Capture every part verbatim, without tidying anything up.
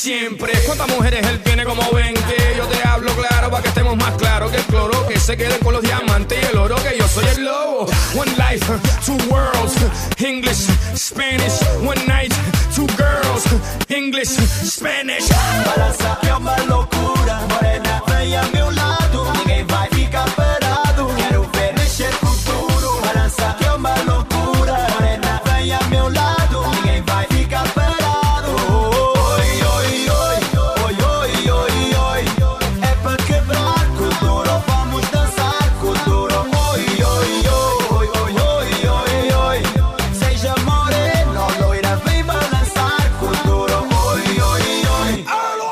siempre. ¿Cuántas mujeres él tiene? Como veinte. Yo te hablo claro para que estemos más claros. Que el cloro que se quede con los diamantes y el oro, que yo soy el lobo. One life, two worlds. English, Spanish. One night, two girls. English, Spanish. Balança que é uma loucura. Morena, vem a meu lado. Ninguém vai ficar parado. Quero ver mexer com tudo. Balança que é uma loucura. Morena, vem a meu lado. Ninguém vai ficar parado. Oi, oi, oi, oi, oi, oi, oi. É pra quebrar com duro. Vamos dançar com duro. Oi, oi, oi, oi, oi, oi, oi. Seja morena, loira, vem balançar com duro. Oi, oi, oi.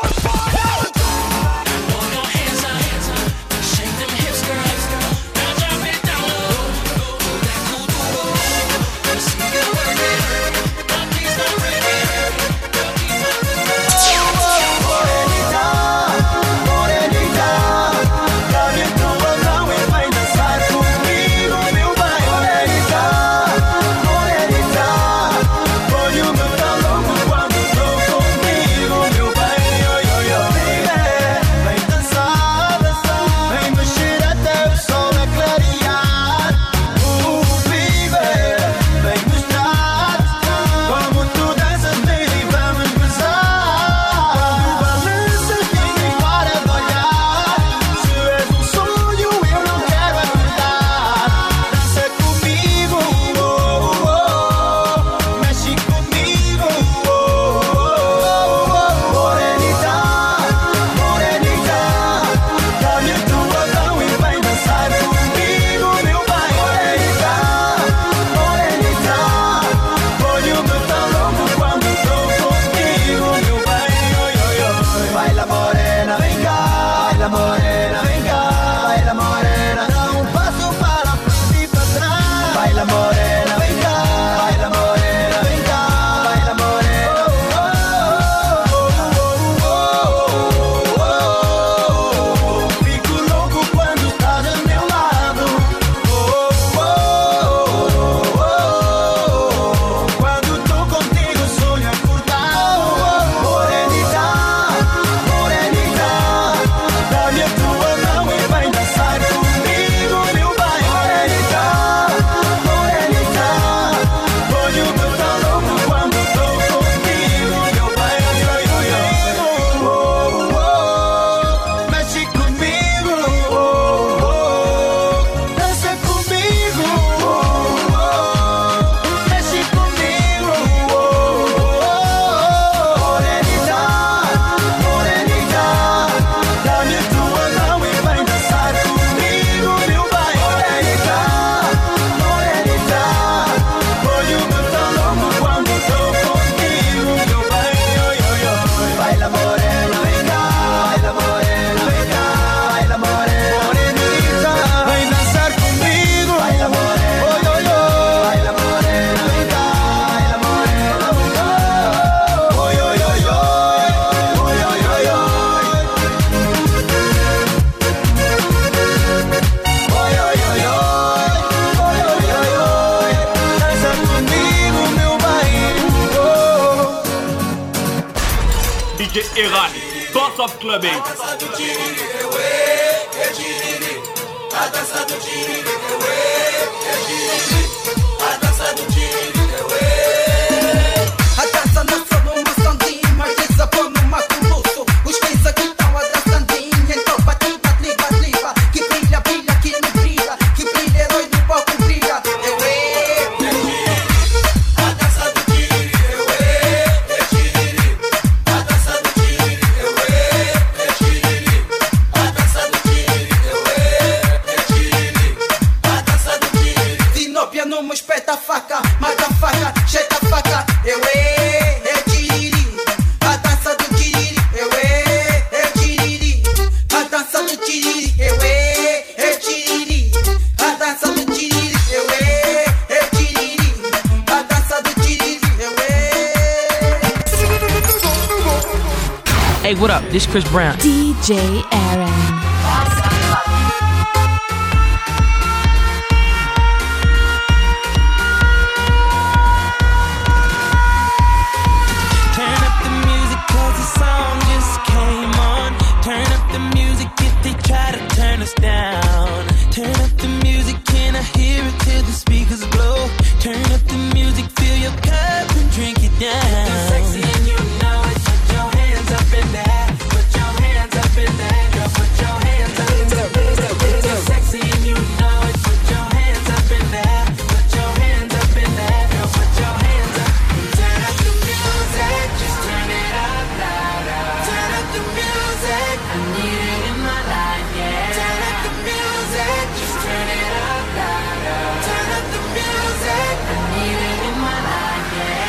Top Clubbing. A dança do tiriri, é tiriri. A dança do tiriri, é tiriri. A dança do tiriri, a dança nasceu numa sandinha, mas desabou numa coluço. Os pés aqui estão abraçandinho, então bate, bate, bate, bate. Que brilha, brilha, que não brilha. Que brilha, herói no palco brilha. Eu é, é tiriri. A dança do tiriri, eu é, é tiriri. A dança do tiriri. Não me espeta a faca, mata a faca, jeita a faca. Eu é, é tiriri. A dança do tiriri. Eu é, é tiriri. A dança do tiriri. Eu é, é tiriri. A dança do tiriri. Eu é, é tiriri. A dança do tiriri. Eu é. Hey, what up? This is Chris Brown. D J Aaron. Turn up the music 'cause the song us down. Turn up the music, can I hear it till the speakers blow? Turn up the music, fill your cup and drink it down. If you're sexy and you know it, put your hands up in there. Put your hands up in there, girl, put your hands up in there. If you're sexy and you know it, put your hands up in there. Put your hands up in there, girl, put your hands up. Turn up the music, just turn it up louder. Turn up the music, I need it in my life, yeah. Turn up the music, just turn it up louder. Turn up the music, I need it in my life, yeah.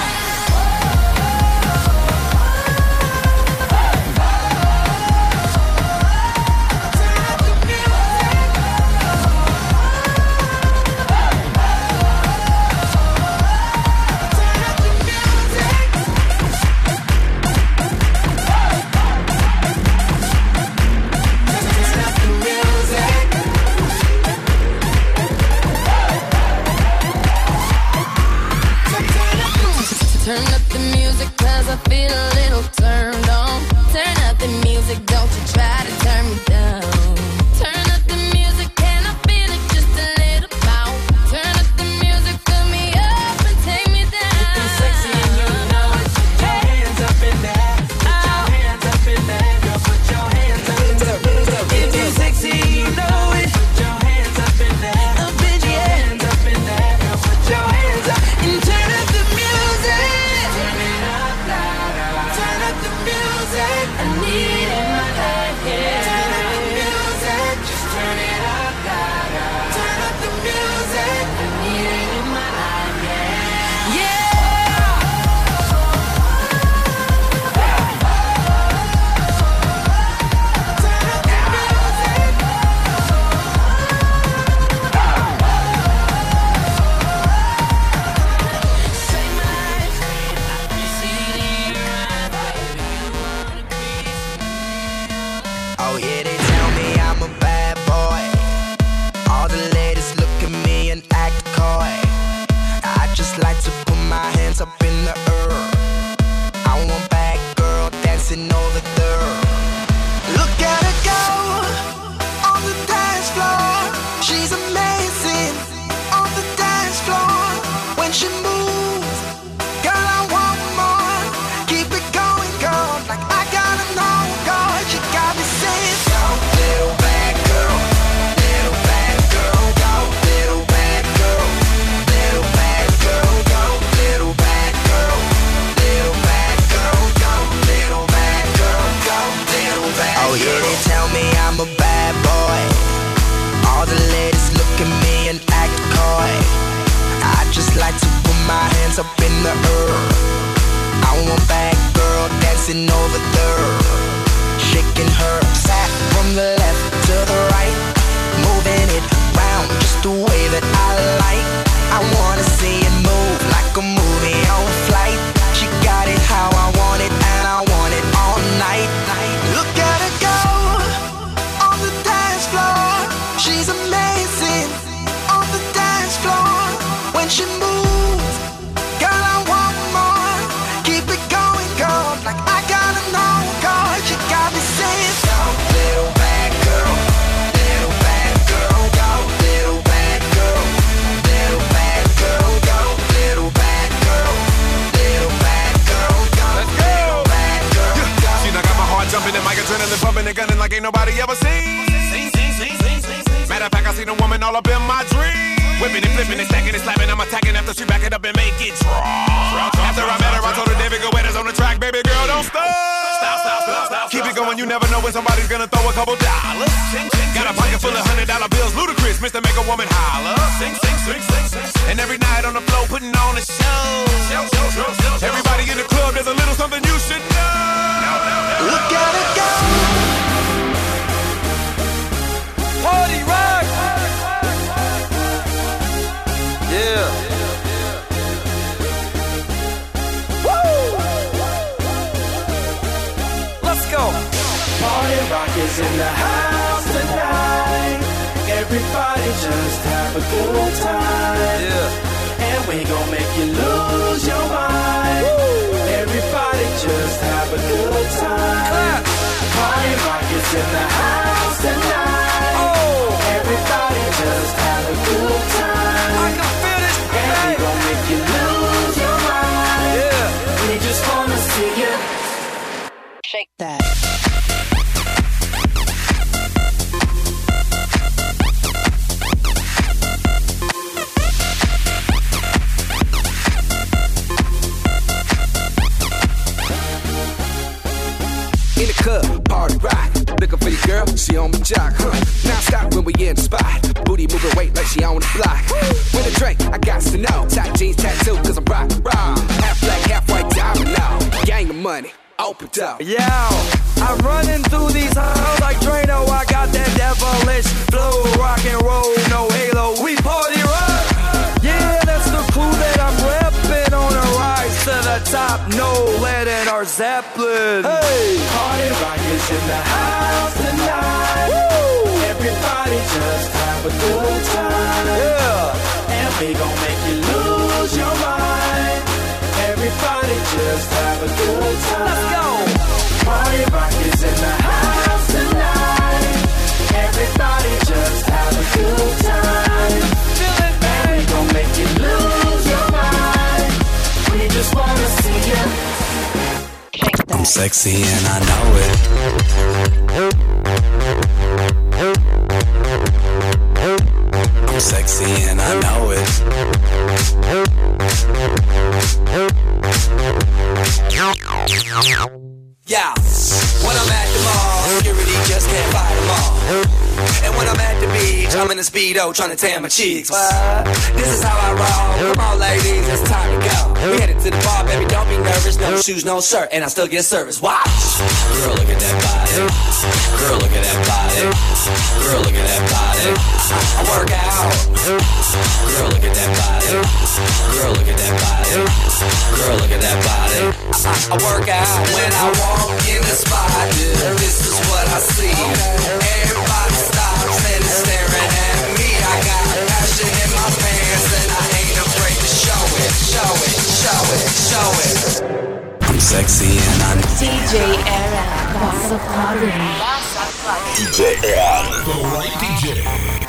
Turn up the music cause I feel a little turned on. Turn up the music, don't you try to turn me down. Turn up the music and I feel it just a little bout. Turn up the music, fill me up and take me down. If you're sexy and you know it, put your hands up in there. Put your hands up in there, girl, put your hands up in there. If you're sexy and you know it, put your hands up in there. Put your hands up in there, girl, put your hands up. And turn up the music. Turn it up louder. Turn up the music. I need it in my life, yeah. Turn up the music. Just turn it up louder. Turn up the music. I need it in my life, yeah. Yeah. Turn up the music. Say my friend, I can see it in your eyes, baby. You wanna be Oh yeah, they tell me I'm a bad boy. All the ladies look at me and act coy. I just like to put my hands up in the air. I want bad girl dancing over there. Look at her go on the dance floor. She's amazing on the dance floor. When she moves, girl, I want more. Keep it going, girl, like I gotta know, girl. You got me saying, go, little bad girl, little bad girl, go, little bad girl, little bad girl, go, little bad girl, little bad girl, go, little bad girl, go, little bad girl. Oh yeah, they tell me I'm a bad boy. All the ladies look at me and act coy. I just like to put my hands up in the air. I want bad girl dancing over there, shaking her fat from the left to the right, moving it round just the way that I like. I wanna see it move like a movie on flight. She got it how I want it and I want it all night. Look at her go on the dance floor. She's amazing on the dance floor. When she moves, girl, I want more. Keep it going, girl, like I gotta know, girl. You got me saying, go, little bad girl, little bad girl, go, little bad girl, little bad girl, go, little bad girl, little bad girl, go, little bad girl, go. See, I got my heart jumping and my adrenaline pumping and gunning like ain't nobody ever seen. Matter of fact, I seen a woman all up in my dream. Whipping and flipping and stacking and slapping. I'm attacking after she back it up and make it drop. After I met her, I told her David Guetta's on the track. Baby girl, don't stop. Stop, stop, stop, stop. Keep it going, you never know when somebody's gonna throw a couple dollars. Got a pocket full of hundred dollar bills, ludicrous, Mister Make a Woman Holler. And every night on the floor, putting on a show. Everybody in the club, there's a little something you should know. Look at it go. Party rock. Yeah. Woo! Let's go. Party rock is in the house tonight. Everybody just have a good time. Yeah. And we gon' make you lose your mind. Woo! Everybody just have a good time. Clap. Party rock is in the house tonight. She on my jock, huh? Now stop when we in the spot. Booty moving weight like she on the block. With a drink, I got to know. Tight jeans, tattoo, cause I'm rock, raw. Half black, half white, diamond now. Gang of money, open up. Yo, I'm running through these halls like Drano. I got that devilish flow, rock and roll, no halo. We party rock. Yeah, that's the crew that I'm repping on a rise to the top. No lead in our Zeppelin. Hey, Party rock is in the house tonight. woo, Everybody just have a good time. yeah. And we gon' make you lose your mind. Everybody just have a good time. Let's go. Party rock is in the house tonight. Everybody just have a good time. Feel it, And we gon' make you lose your mind. We just wanna see you. I'm sexy and I know it. I'm sexy and I know it. Yeah, when I'm at the mall, security just can't fight them all. And when I'm at the beach, I'm in a Speedo trying to tan my cheeks. What? This is how I roll. Come on, ladies, it's time to go. We headed to the bar, baby, don't be nervous. No shoes, no shirt, and I still get service. Watch. Girl, look at that body. Girl, look at that body. Girl, look at that body. I work out. Girl, look at that body. Girl, look at that body. Girl, look at that body. I, I work out when I walk in the spot. This is what I see. Everybody stops and is staring at me. I got passion in my pants and I ain't afraid to show it, show it, show it, show it. I'm sexy and I'm D J Era, Boss of Party. D J Era. The right D J.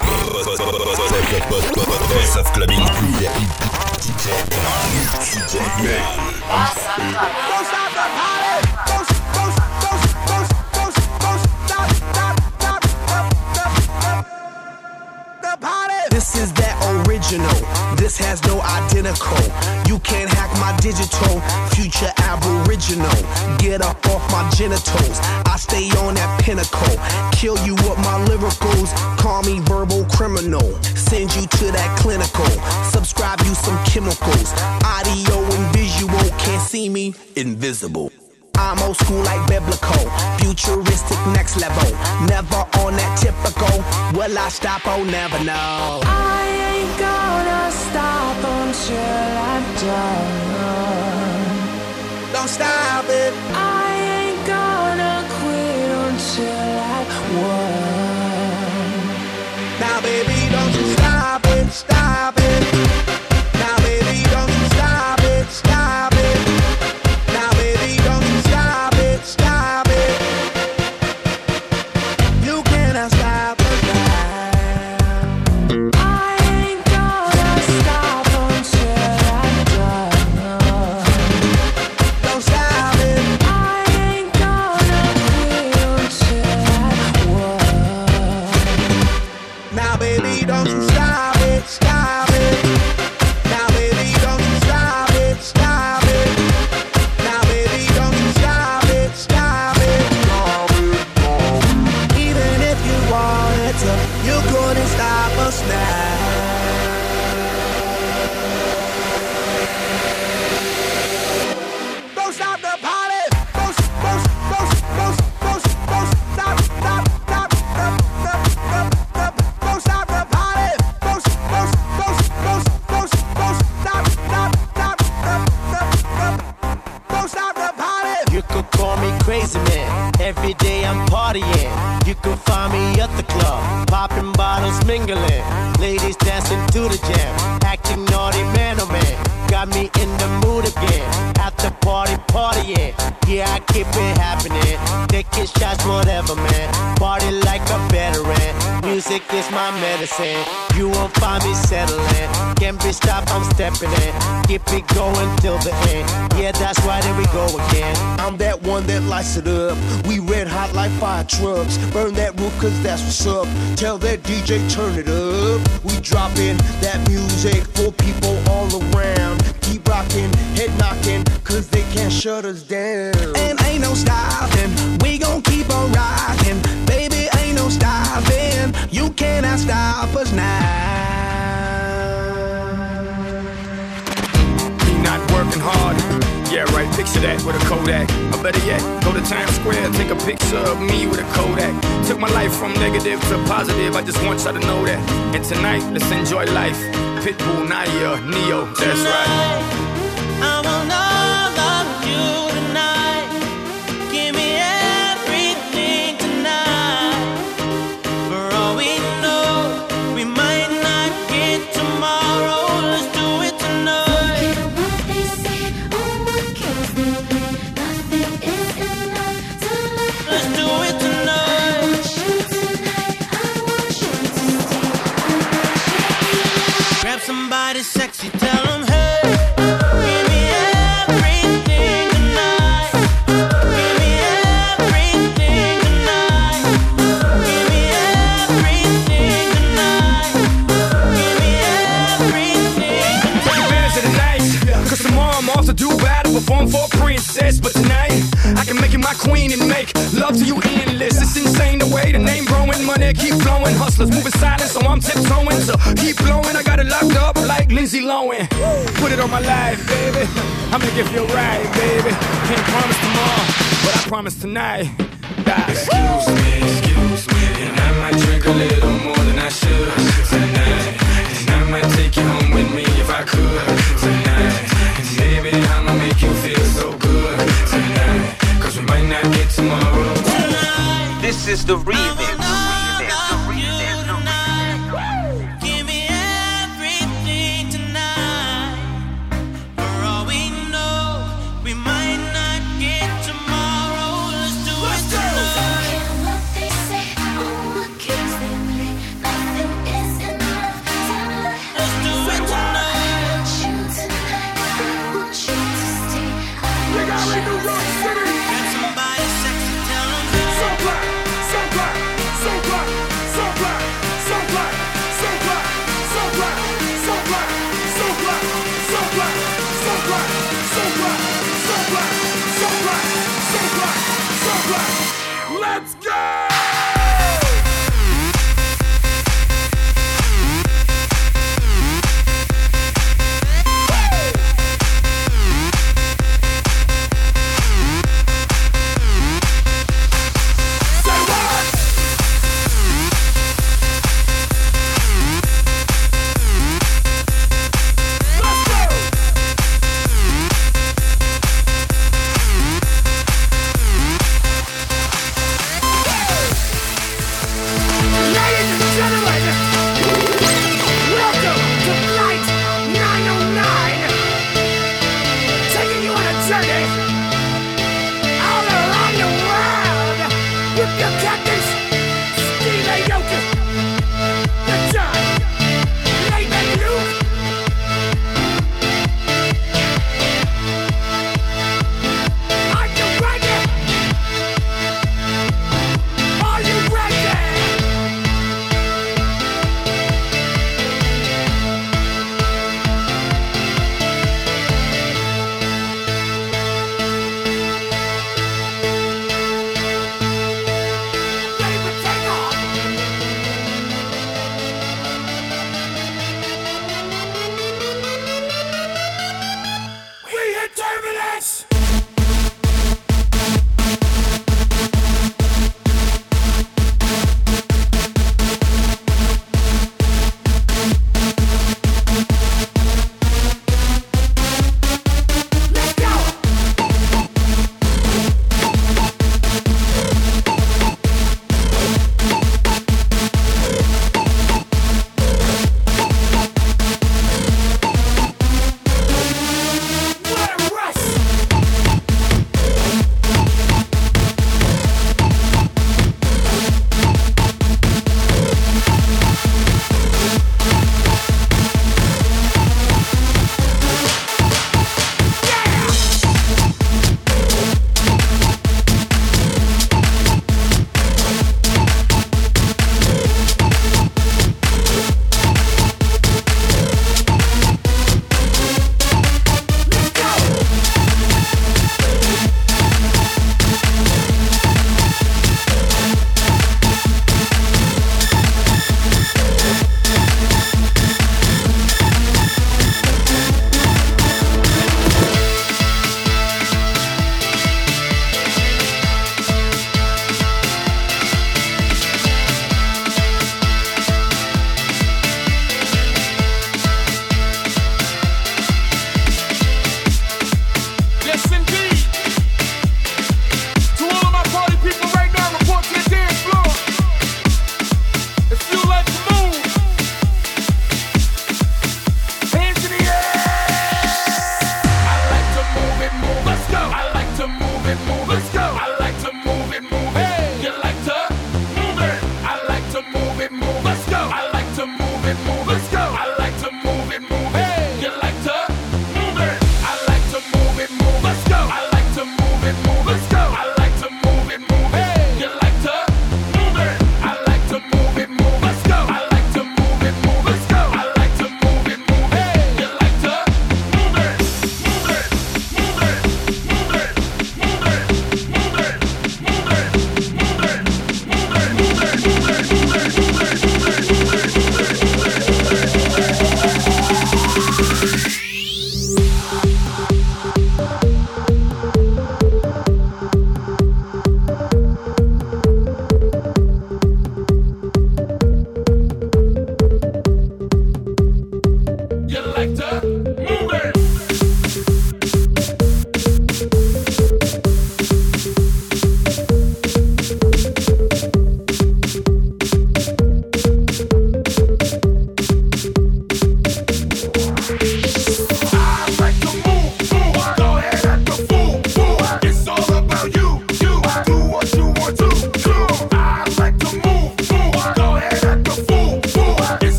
Boss of Clubbing. D J Era. D J Man. Boss of Party. Don't stop the party. Don't, don't, don't, don't, don't, don't stop, stop, stop, stop, stop, stop the party. This is that original. This has no identical. You can't hack my digital. Future aboriginal. Get up off my genitals. I stay on that pinnacle. Kill you with my lyricals. Call me verbal criminal. Send you to that clinical. Subscribe you some chemicals. Audio and visual. Can't see me. Invisible. I'm old school like biblical, futuristic next level. Never on that typical. Will I stop? Oh, never know. I ain't gonna stop until I'm done. Don't stop it. I ain't gonna quit until I won. Now, baby, don't you stop it, stop it. Now, baby, don't you stop it, stop it. Now, baby, don't you stop it, stop it. You cannot stop it now. I ain't gonna stop until I'm done. Don't stop it. I ain't gonna quit until I won. Now, baby, don't you stop it, stop it. Now, baby, don't you stop it, stop it. Now, baby, don't you stop it, stop it. Even if you wanted to, you couldn't stop us now. Don't stop the party. Don't, don't, don't, don't, don't, don't stop, stop, stop, stop, stop, stop, stop. Don't stop the party. Don't, don't, don't, don't, don't, don't stop, stop, stop, stop, stop, stop. Don't stop the party. You could call me crazy man. Every day I'm partying. You could find me at the club, popping bottles, mingling. Ladies dancing to the jam, acting naughty, man, oh man. Got me in the mood again. At the party, partying. Yeah, I keep it happening. Taking shots, whatever, man. Party like a veteran. Music is my medicine. You won't find me settling. Can't be stopped, I'm stepping in. Keep it going till the end. Yeah, that's right, here we go again. I'm that one that lights it up. We red hot like fire trucks. Burn that roof cause that's what's up. Tell that D J turn it up. We dropping that music for people all around. Keep rocking, head knocking, cause they can't shut us down. And ain't no stopping, we gon' keep on rocking. Baby, ain't no stop us now. Me not working hard. Yeah, right, picture that with a Kodak. Or better yet, go to Times Square, take a picture of me with a Kodak. Took my life from negative to positive, I just want y'all to know that. And tonight, let's enjoy life. Pitbull, Naya, Neo, that's right. I want all of you tonight. Give me everything tonight. For all we know, we might not get tomorrow. Let's do it tonight. Let's do it tonight. Grab somebody sexy, tell them hey. Perform for a princess, but tonight I can make you my queen and make love to you endless. It's insane the way the name growing, money keep flowing. Hustlers moving silent, so I'm tiptoeing. So keep blowing, I got it locked up like Lindsay Lohan. Put it on my life, baby. I'm gonna give you a ride, baby. Can't promise tomorrow, but I promise tonight. Die. Excuse me, excuse me, and I might drink a little more than I should tonight. And I might take you home with me if I could tonight. Baby, I'ma make you feel so good tonight. Cause we might not get tomorrow. Tonight, this is the remix. Give me everything tonight. For all we know, we might not get tomorrow. Let's do it tonight. What they say, oh, what keeps them me? Nothing is enough tonight. Let's do it tonight.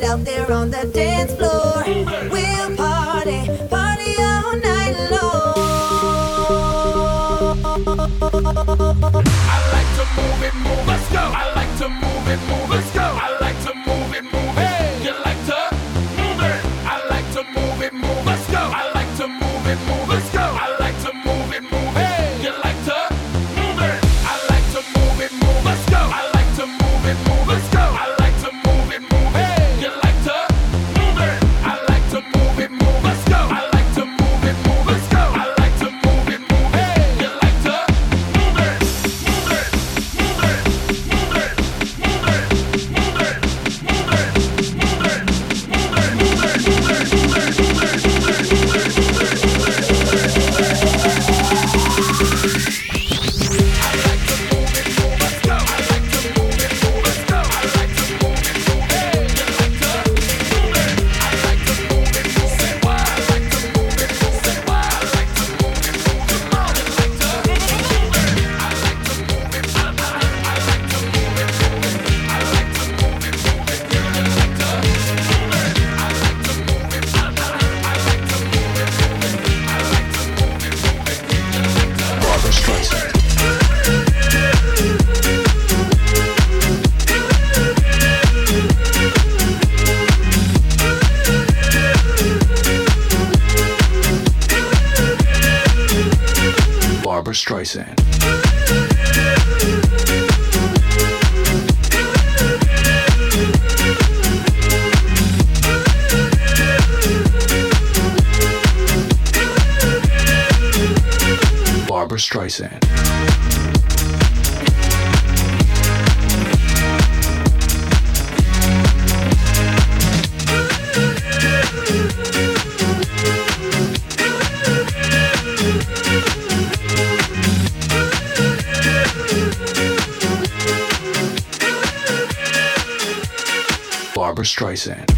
out there on the dance floor. We'll party, party all night long. I like to move it, move. Let's go. I like to move it, move. Let's go. I like to move it, move. Hey, you like to move it? I like to move it, move. Let's go. I like to move it, move. Let's go. I like to move it, move. Hey, you like to move it? I like to move it, move. Let's go. I like to move it, move. Let's go. I like to move it, move. Hey, you like to move it? I like to move it, move. Let's go. I like to move it, move. Let's go. I like to move it, move. Hey, you like to move it, move it, move it, move it, move it, move it, move it, move it, move it, move it, move it, move it, move it, move it, move it, move it, move it. I like to move it, move. Let's go. I like to move it, move. Let's go. I like to move it, move. Hey, you like to move it? I like to move it, move. Say why? I like to move it, move. Say why? I like to move it, move. Come on, I like to move it. I like to move it, I I like to move it, move it. I like to move it, move it. You like to move it. I like to move it, I I like to move it, move it. I like to move it, move it. You like to Barbra Streisand. Barbra Streisand. Barbra Streisand. Barbra Streisand.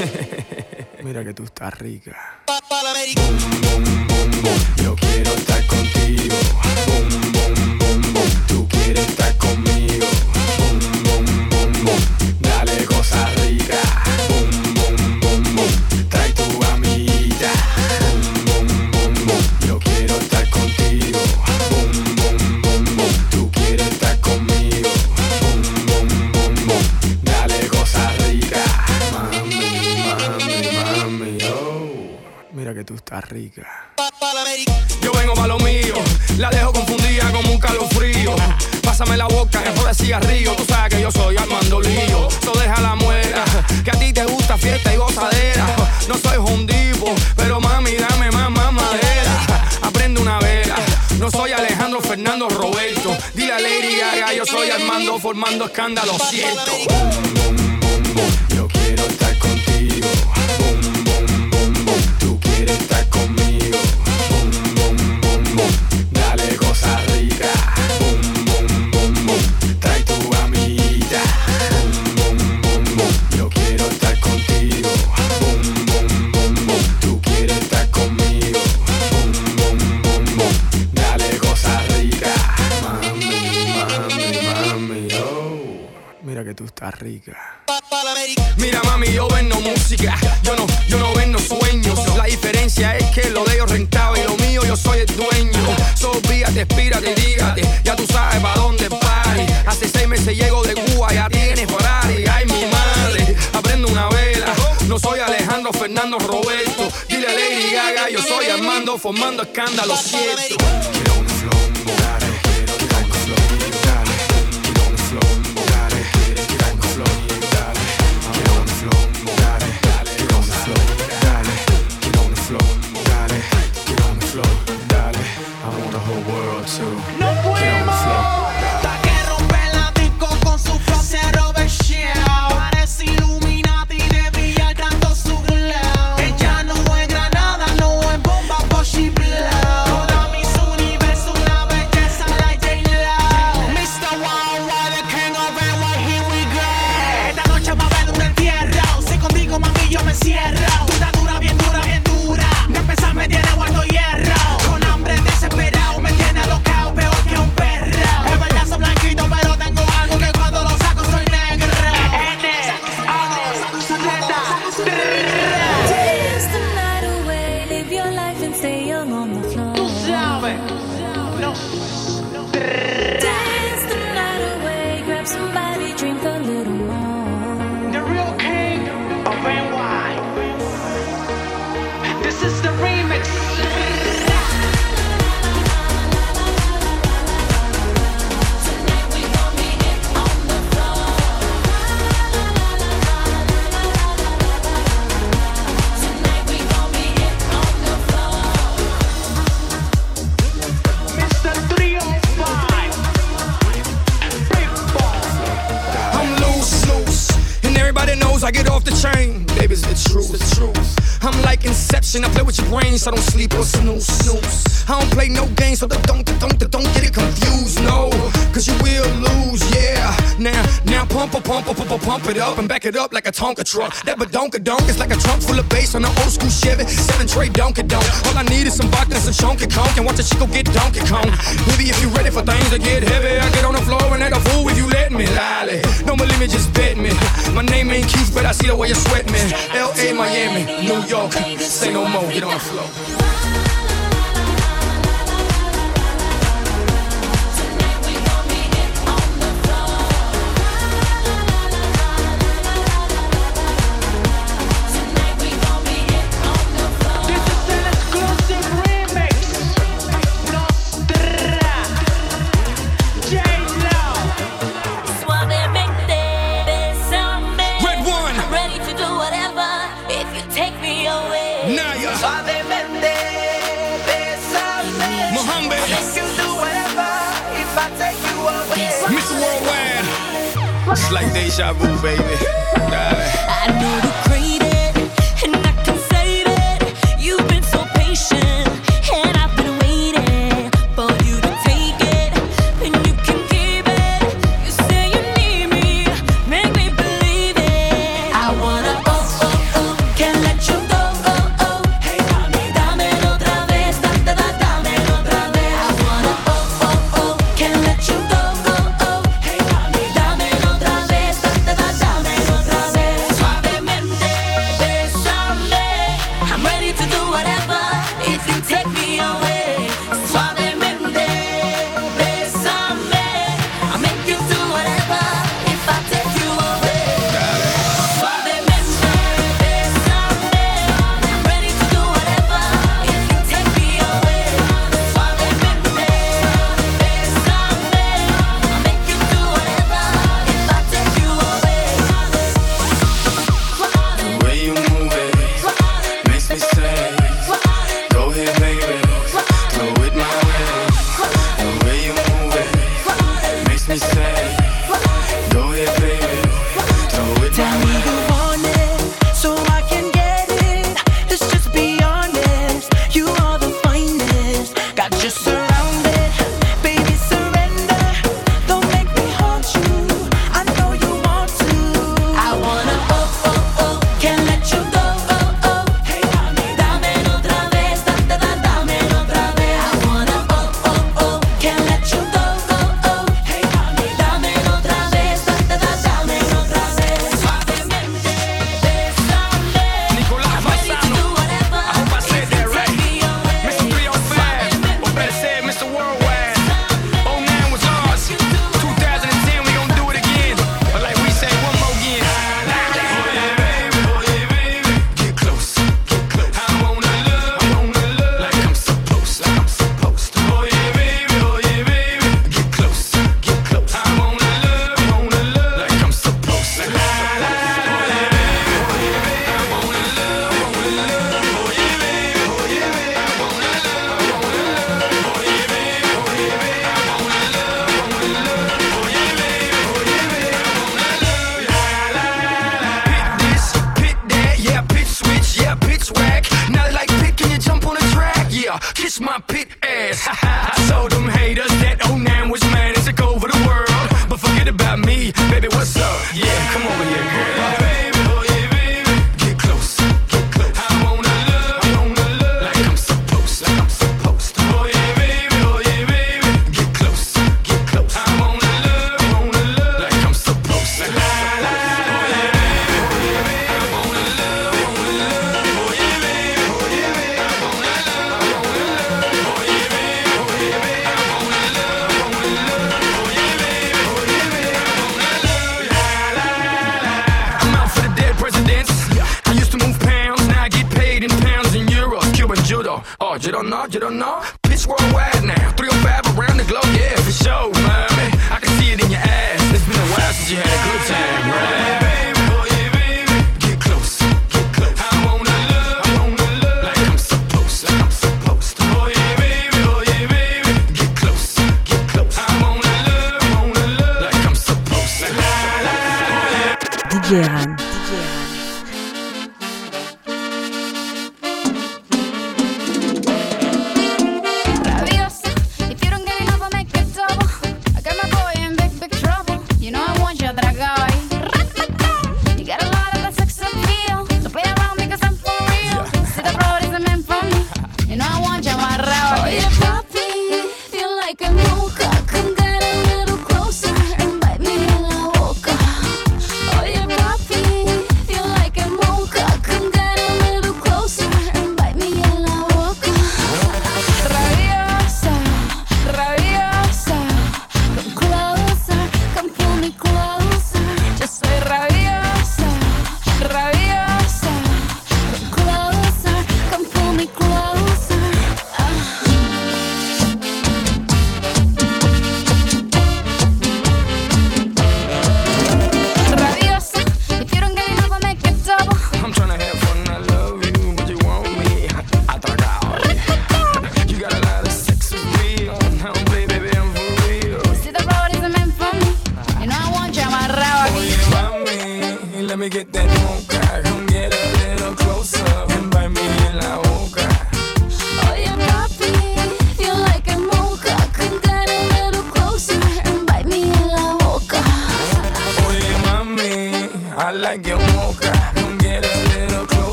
Mira que tú estás rica. Boom, boom, boom, boom. Yo quiero estar contigo. Boom, boom, boom, boom. Tú quieres estar conmigo. Boom, boom, boom, boom. Dale cosa rica. Boom, boom, boom, boom. Trae tu amiguita. Boom, boom, boom, boom. Yo quiero estar contigo. Boom, boom, boom, boom. Tú quieres estar conmigo. Boom, boom, boom, boom. Dale cosa rica. Mami, mami, mami, oh. Mira que tú estás rica. Yo vengo pa' lo mío, la dejo confundida como un calofrío. Pásame la boca, es por el cigarrillo. Tú sabes que yo soy Armando Lío. So deja la muela, que a ti te gusta fiesta y gozadera. No soy hondipo, pero mami, dame más, más madera. Aprende una vela, no soy Alejandro Fernando Roberto. Dile a Lady Gaga, yo soy Armando formando escándalo, siento. Boom, boom, boom, boom. Yo quiero estar contigo. Boom, boom, boom, boom. Tú quieres estar conmigo. Boom, boom, boom, boom. Dale cosa rica. Boom, boom, boom, boom. Trae tu amiguita. Boom, boom, boom, boom. Yo quiero estar contigo. Boom, boom, boom, boom. Tú quieres estar conmigo. Boom, boom, boom, boom. Dale cosa rica. Mami, mami, mami, oh. Mira que tú estás rica. Mira mami, yo vendo música, yo no, yo no vendo sueños. La diferencia es que lo de ellos rentaba y lo mío yo soy el dueño. So víate, espírate, dígate, ya tú sabes pa' dónde party. Hace seis meses llego de Cuba, ya tienes Ferrari. Ay mi madre, aprendo una vela. No soy Alejandro Fernando Roberto. Dile a Lady Gaga, yo soy Armando formando escándalo, cierto. Quiero un flow, dale, quiero tirar un flow, dale. Quiero un flow, dale, quiero tirar un flow. No fuimos hasta que rompe la disco con su flow se roba el show. Parece Illuminati de brillar tanto su glow. Ella no es granada, no es bomba, but she blow. Toda mi universo una belleza like J-Lo. mister Worldwide, the king of N Y, here we go. Esta noche va a haber un entierro. Si contigo mami yo me cierro. Tú estás dura, bien dura, bien dura. De empezar me tiene guardo hierro. Con hambre desesperado me tiene alocado, peor que un perro. Es verdad soy blanquito, pero tengo algo que cuando lo saco soy negro. Dance the night away, live your life and stay young on the floor. Tú sabes. No. Dance the night away, grab somebody, drink a little more. The real king of N Y. This is the remix. Everybody knows I get off the chain. Baby, it's the truth. The truth. I'm like Inception. I play with your brain, so I don't sleep or snooze. snooze. I don't play no games, so don't, don't, don't, don't get it confused. No, cause you will lose, yeah. Now, now pump, pump, pump, pump, pump it up and back it up like a Tonka truck. That badonka-donk is like a trunk full of bass on an old school Chevy. Seven tray donka-donk. All I need is some vodka and some chunky conk and watch a chico get Donkey Kong. Baby, if you ready for things to get heavy, I get on the floor and act a fool if you let me. Lally, don't believe me, just bet me. My name ain't Keith, but I see the way you sweat me. L A, Miami, New York, say no more, get on the floor. Suavemente, bésame. Mohammed. Make you do whatever if I take you away. Mister Worldwide. It's like deja vu, baby. Dale. I know you crave it, and I can save it. You've been so patient, and I've been waiting for you to take it, and you can keep it. You say you need me, make me believe it. I wanna oh oh oh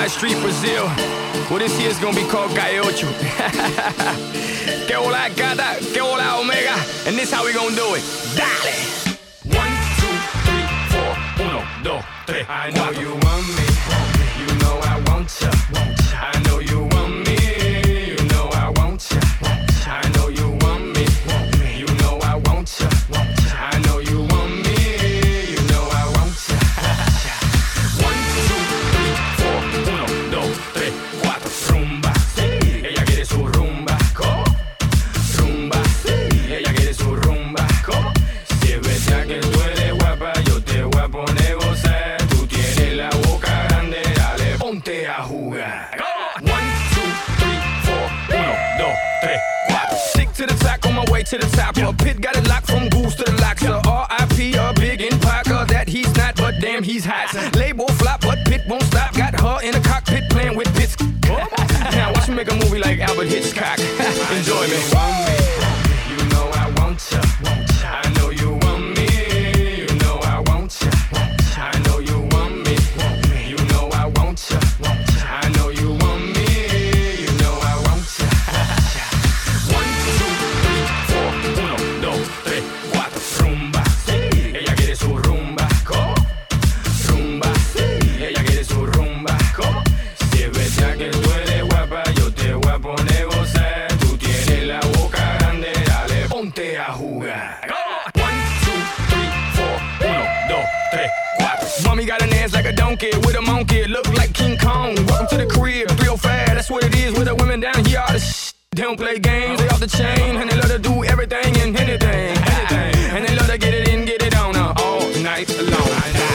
my street Brazil. Well, this year's gonna be called Calle Ocho. Que hola gata, que hola omega. And this how we gonna do it. Dale! One, two, three, four, uno, dos, tres. I know you want me, you know I want ya. I know you want me, you know I want ya. I know you want me, you know I want ya. I know you want me, you know I want ya. One, two, three, four, uno, dos, tres, cuatro. Rumba, ella quiere su rumba. ¿Cómo? Rumba, ella quiere su rumba. ¿Cómo? Si es verdad que tú eres guapa, yo te voy a poner gozar. Tú tienes la boca grande, dale, ponte a jugar. One, two, three, four, uno, dos, tres, cuatro. Stick to the track on my way to the top. A pit got it locked from goose to the locks. So R I P a big in Parker that he's not, but damn he's hot. Label flop, but Pit won't stop. Got her in a cockpit playing with bits. Now watch me make a movie like Albert Hitchcock. Enjoy me. You know I want ya. I know you want me. You know I want ya. I know you want me. You know I want ya. I know you want me. You know I want ya. One, two, three, four, uno, dos, tres, cuatro. Rumba, ella quiere su rumba. ¿Cómo? Rumba, ella quiere su rumba. ¿Cómo? Si es verdad que tú eres guapa, yo te voy a poner gozar. Tú tienes la boca grande, dale, ponte a jugar. One, two, three, four, uno, dos, tres, cuatro. Mommy got an ass like a donkey with a monkey, look like King Kong. Welcome to the crib, three oh five, that's what it is with the women down here. All the sh- they don't play games, they off the chain, and they love to do everything and anything, anything. And they love to get it in, get it on uh, all night long.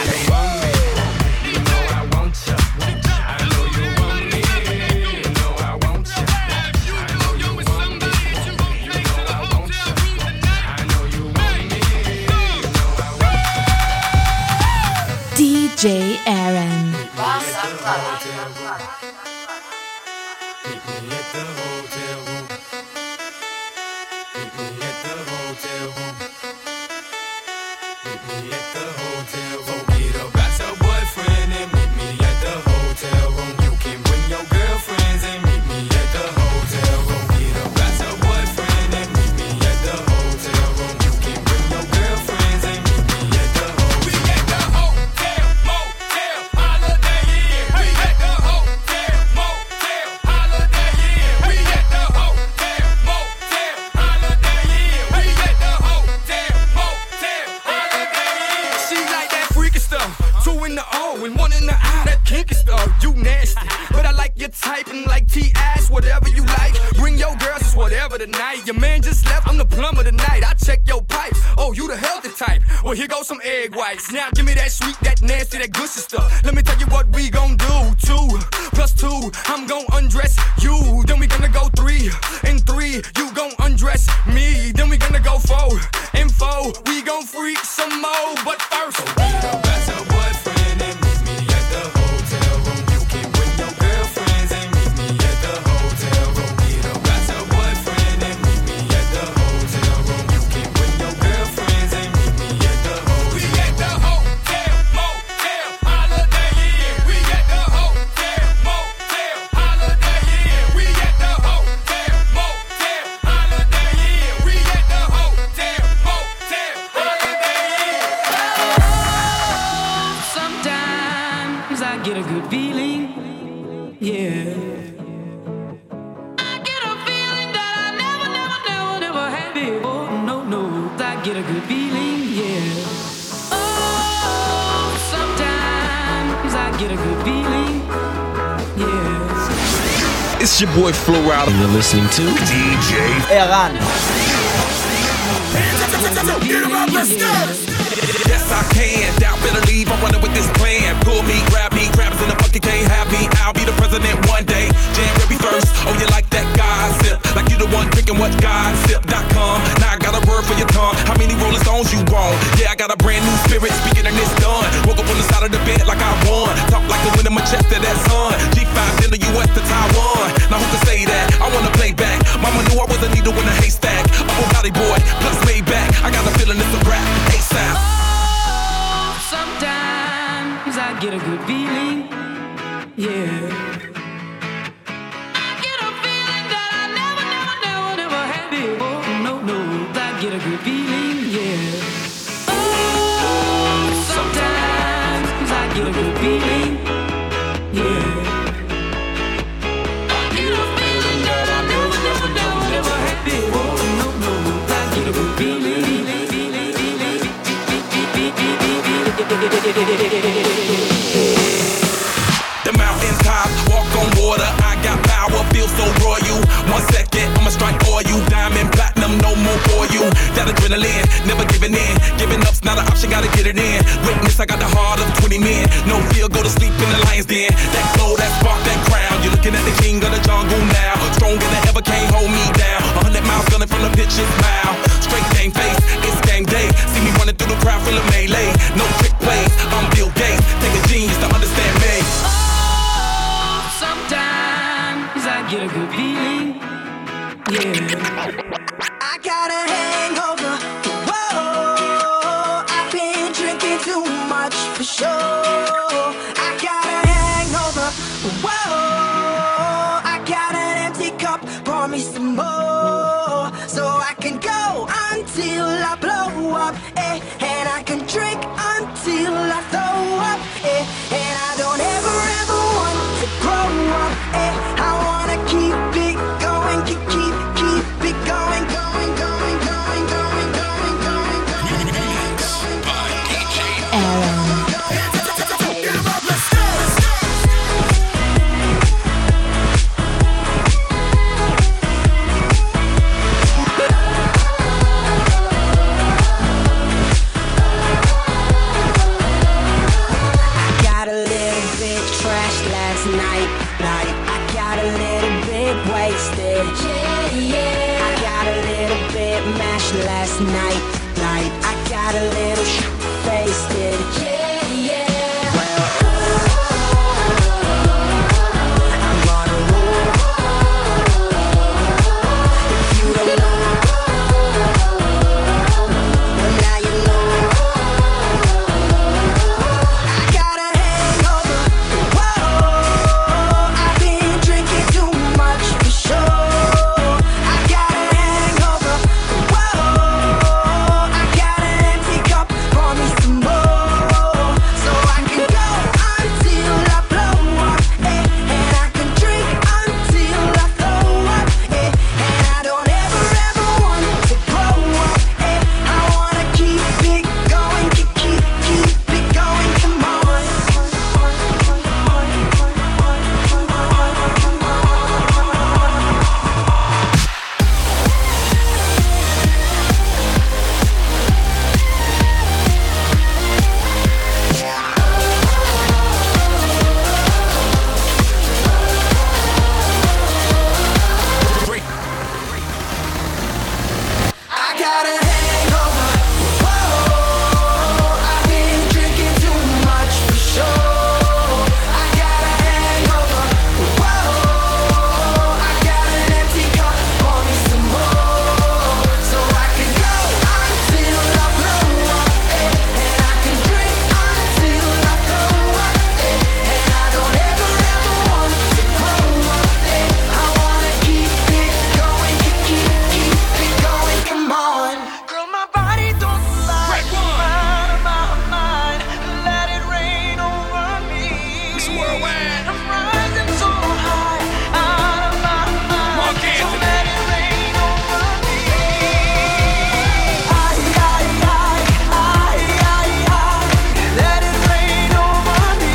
D J Aaron. Typing like T ass, whatever you like. Bring your girls, it's whatever tonight. Your man just left, I'm the plumber tonight. I check your pipes. Oh, you the healthy type. Well, here goes some egg whites. Now give me that sweet, that nasty, that gushy stuff. Let me tell you what we gon' do. Two plus two, I'm gon' undress you. Then we gonna go three and three, you gon' undress me. Then we gonna go four and four, we gon' freak some more. But first, so be the best of boyfriend and meet me at the hotel room. You can bring your girlfriends and meet me at the hotel room. Be the best of boyfriend and meet me at the hotel room. You can bring your girlfriends and meet me at the hotel. We at the hotel, motel, holiday inn. We at the hotel, motel, holiday inn. We at the hotel, motel, holiday inn. We at the hotel, motel, holiday inn. Sometimes I get a good feeling, yeah. I get a feeling that I never, never, never, never had before. No, no, I get a good feeling, yeah. Oh, sometimes I get a good feeling, yeah. It's your boy Flo Rida, and you're listening to D J Aaron. Yes, I can. Doubt, better leave. I'm running with this plan. Pull me, grab me, grabs in the bucket, can't have me. I'll be the president one day. January first. Oh, you like that gossip? Like you the one drinking what gossip dot com. Now I got a word for your tongue. How many Rolling Stones you want? Yeah, I got a brand new spirit. Speaking and it's done. Woke up on the side of the bed like I won. Talk like the wind in my chest to that sun. G five in the U S to Taiwan. Now who can say that? I wanna play back. Mama knew I was a needle in a haystack. I'm a body boy, plus way back. I got a feeling it's a rap. ASAP. Oh, sometimes I get a good feeling, yeah. The mountains top, walk on water. I got power, feel so royal. One second, I'ma strike for you. Diamond, platinum, no more for you. That adrenaline, never giving in. Giving up's not an option, gotta get it in. Witness, I got the heart of twenty men. No fear, go to sleep in the lion's den. That glow, that spark, that crown. You're looking at the king of the jungle now. Stronger than ever, can't hold me down. A hundred miles gunning from the pitcher's mile. Straight game face, it's game day. See me running through the crowd, feel a melee. No trick plays, I'm Bill Gates. Take a genius to understand me. Sometimes I get a good feeling, yeah. I got a hangover, whoa. I've been drinking too much for sure. I got a hangover, whoa. I got an empty cup, pour me some more. So I can go until I blow up, eh. And I can drink until I throw up, eh. And I don't ever, ever want to grow up, eh. I wanna keep it going, keep, keep, keep it going, going, going, going, going, going, going, going. Aaron. Got a little bit trashed last night, night. I got a little bit wasted, yeah, yeah. I got a little bit mashed last night, night. I got a little sh**faced, yeah, yeah. Well, I'm gonna roll. If you don't know, well now you know. I got a hangover, whoa. I've been drinking too much for sure. I got a hangover, whoa. I got an empty cup, pour me some more. So I can go until I blow up, eh. And I can drink until I throw up, eh. And I don't ever, ever want to grow up, eh. I wanna keep it going, keep, keep, keep it going, come on. I got a hangover, whoa. I've been drinking too much for sure. I got a hangover, whoa. I got an empty cup, pour me some more. So I can go until I blow up, eh. And I can drink until I throw up, eh. And I don't ever, ever want to grow up, eh. I wanna keep it going, keep, keep, keep it going, come on. Girl, my body don't lie. Out of my mind, let it rain over me. I'm rising so high, out of my mind. So let it rain over me. Ay, ay, ay, ay, ay, ay. Let it rain over me.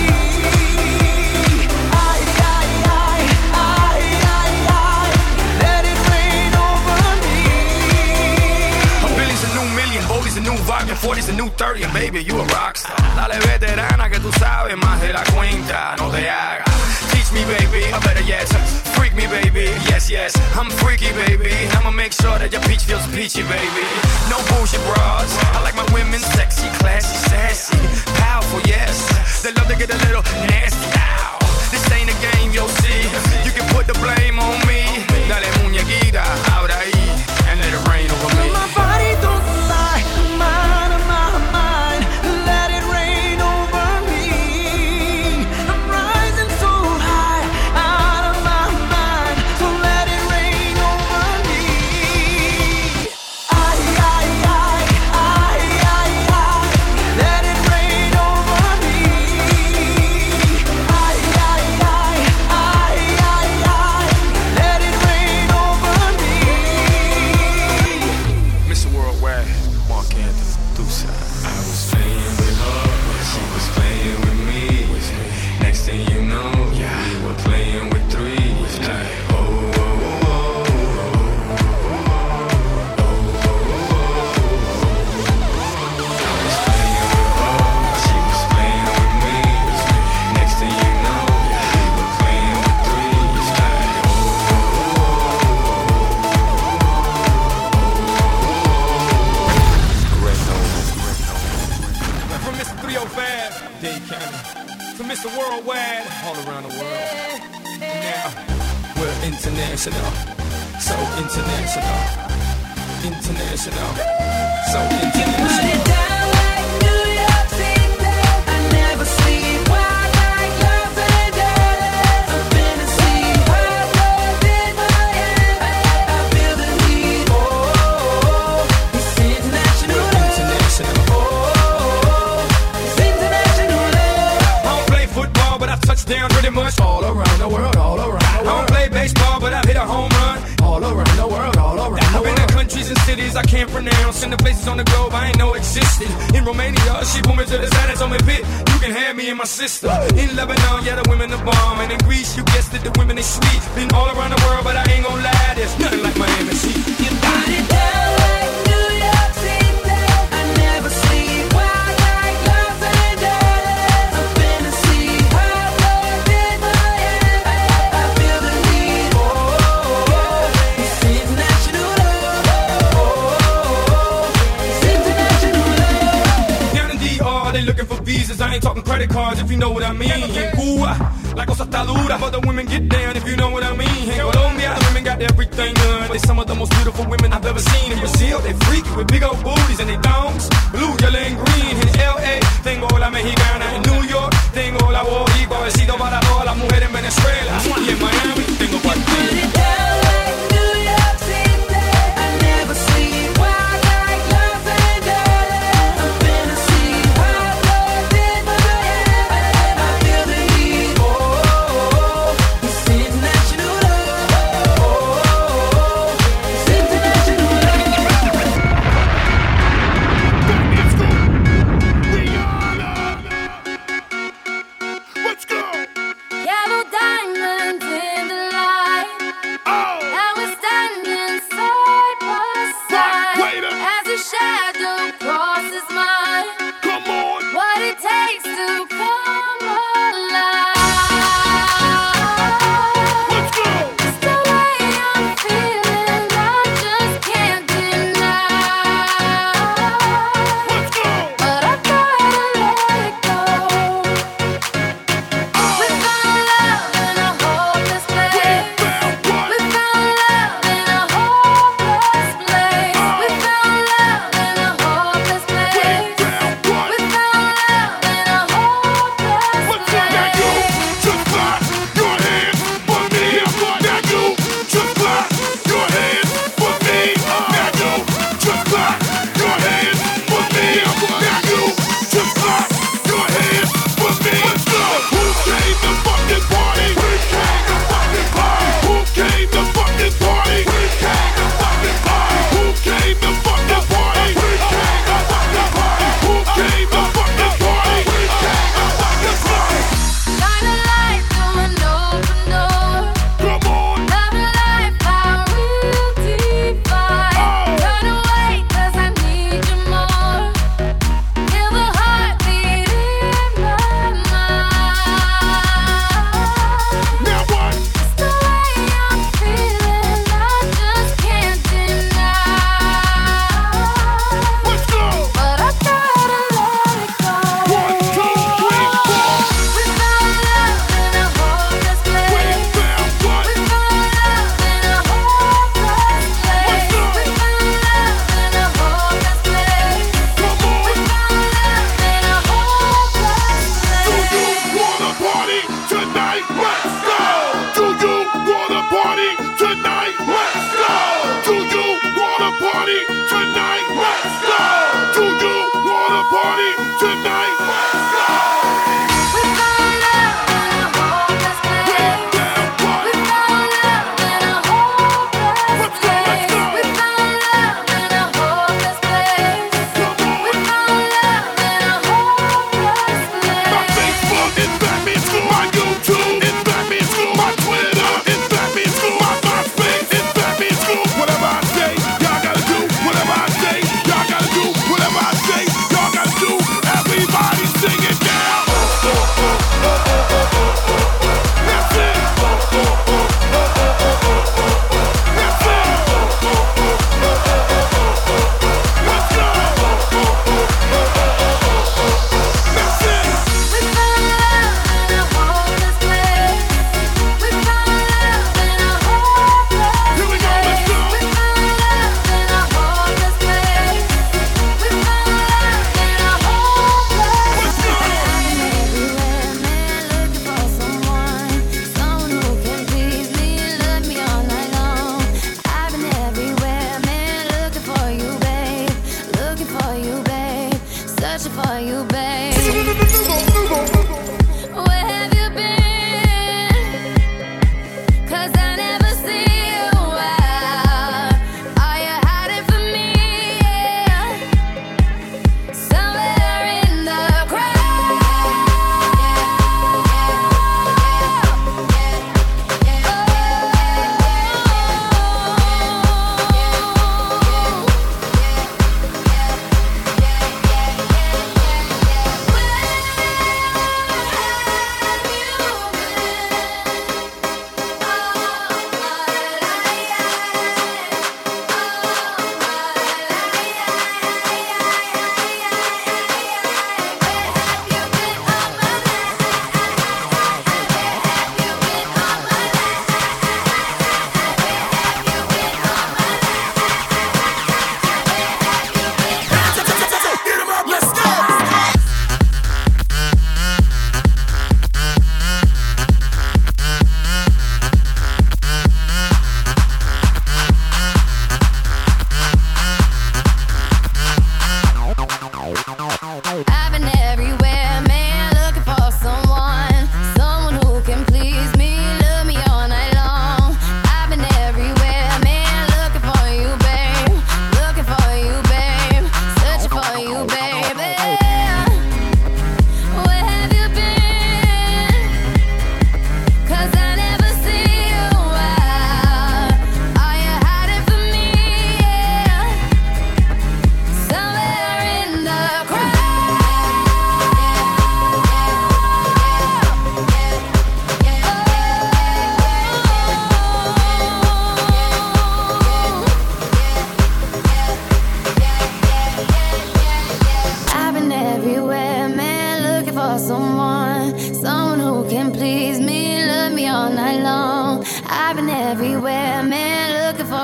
Ay, ay, ay, ay, ay, ay. Let it rain over me. A Billy's a new million, Bobby's a new vodka, forty's a new thirty, and baby, you a rockstar. Dale veterana que tú sabes más de la cuenta, no te hagas. Teach me, baby, or better yet, freak me, baby. Yes, yes, I'm freaky, baby. I'ma make sure that your peach feels peachy, baby. No bullshit bras. I like my women sexy, classy, sassy, powerful, yes. They love to get a little nasty. Ow. This ain't a game, you'll see. You can put the blame on me. Dale muñequita, ahora ahí, and let it rain over me. My body don't lie, I'm out of my mind. Let it rain over me. I'm rising so high, out of my mind. So let it rain over me. Ay, ay, ay, ay, ay, ay. Let it rain over me. Ay, ay, ay, ay, ay, ay. Let it rain all around the world. Now we're international, so international, international, so international. Put it down like New York City. I never sleep. Wild like Los Angeles. I've been to see hot dogs in Miami. I feel the heat. Oh, oh, oh. It's international, international. Oh, oh, oh. It's international. I don't play football, but I touch down pretty much all around the world, all around the world. I don't play baseball, but I've hit a home run all around the world, all around the world. I've been to countries and cities I can't pronounce, and the places on the globe I ain't know existed. In Romania, she pulled me to the side and told me, "Pit, you can have me and my sister." In Lebanon, yeah, the women are bomb, and in Greece, you guessed it, the women they sweet. Been all around the world, but I ain't gon' lie, there's nothing like Miami Heat. You got it down like New York City. I never sleep. Wild like Los Angeles. I've been to see hot dogs in Miami. I feel the heat. Oh, oh, oh. It's international love. Oh, oh, oh. It's international love. Down in D R, they looking for visas. I ain't talking credit cards, if you know what I mean. In Cuba, la cosa está dura, but the women get down, if you know what I mean. In Colombia, the women got everything done. They some of the most beautiful women I've ever seen. In Brazil, they freaky with big old booties and they thongs, blue, yellow, and green. In L A, tengo la mexicana. In New York, tengo la boricua. Besito para todas las mujeres en Venezuela. Y en Miami, tengo cualquiera. Yellow diamonds in the light.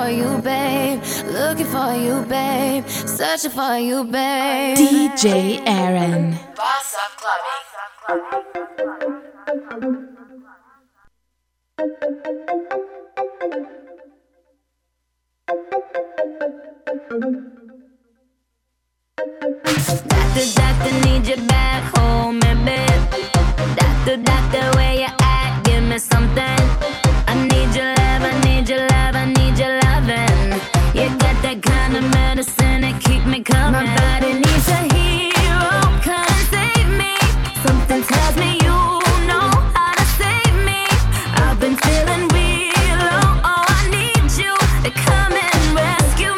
for you, babe. Looking for you, babe. Searching for you, babe. D J Aaron. Boss of Clubbing. Doctor, doctor, need you back home, baby. Doctor, doctor, where you at? Give me something. I need your love, I need your love, I need your loving. You got that kind of medicine that keep me coming. My body needs a hero, come and save me. Something tells me you know how to save me. I've been feeling real low, oh, I need you to come and rescue me.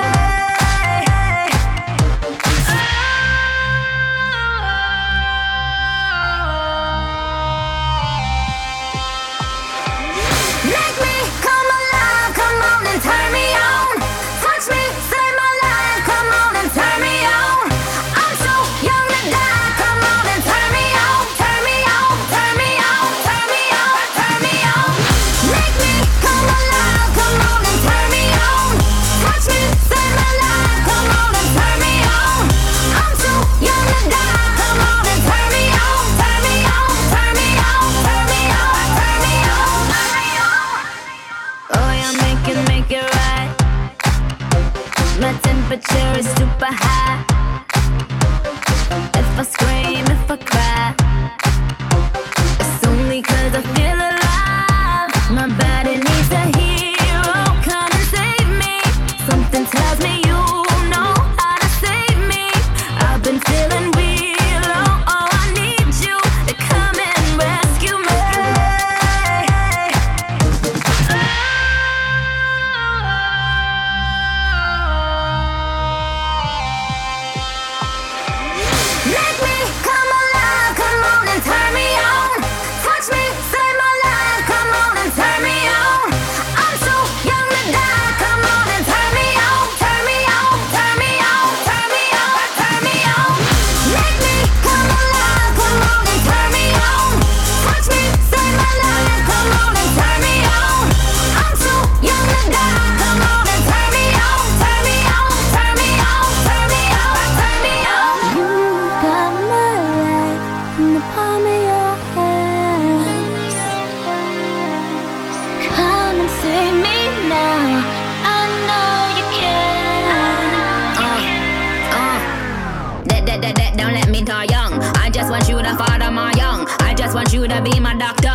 Make me come alive, come on and turn me on. Touch me, save my life, come on and turn me on. I'm so young to die, come on and turn me on. Turn me on, turn me on, turn me on, turn me on. Make me come alive, come on and turn me on. Touch me, save my life, come on and turn me on. I'm so young to die, come on and turn me on. Turn me on, turn me on, turn me on, turn me on, turn me on. Oh, yeah, make it, make it right. My temperature is super high. If I scream, if I cry, it's only 'cause I feel alive. My body needs a hero, come and save me. Something tells me you know how to save me. I've been feeling real low, oh, I need you to come and rescue me. Make me come alive, come on and turn me on. Touch me, save my life, come on and turn me on. I'm so young to die, come on and turn me on. Turn me on, turn me on, turn me on, turn me on. Make me come alive, come on and turn me on. Touch me, save my life, come on and turn me on. I'm so young to die, come on and turn me on. Turn me on, turn me on, turn me on, turn me on. You got my life in the palm of your hand. Come and save me now. I know you can. Uh, uh. That, that, that, that, don't let me die young. I just want you to father my young. I just want you to be my doctor.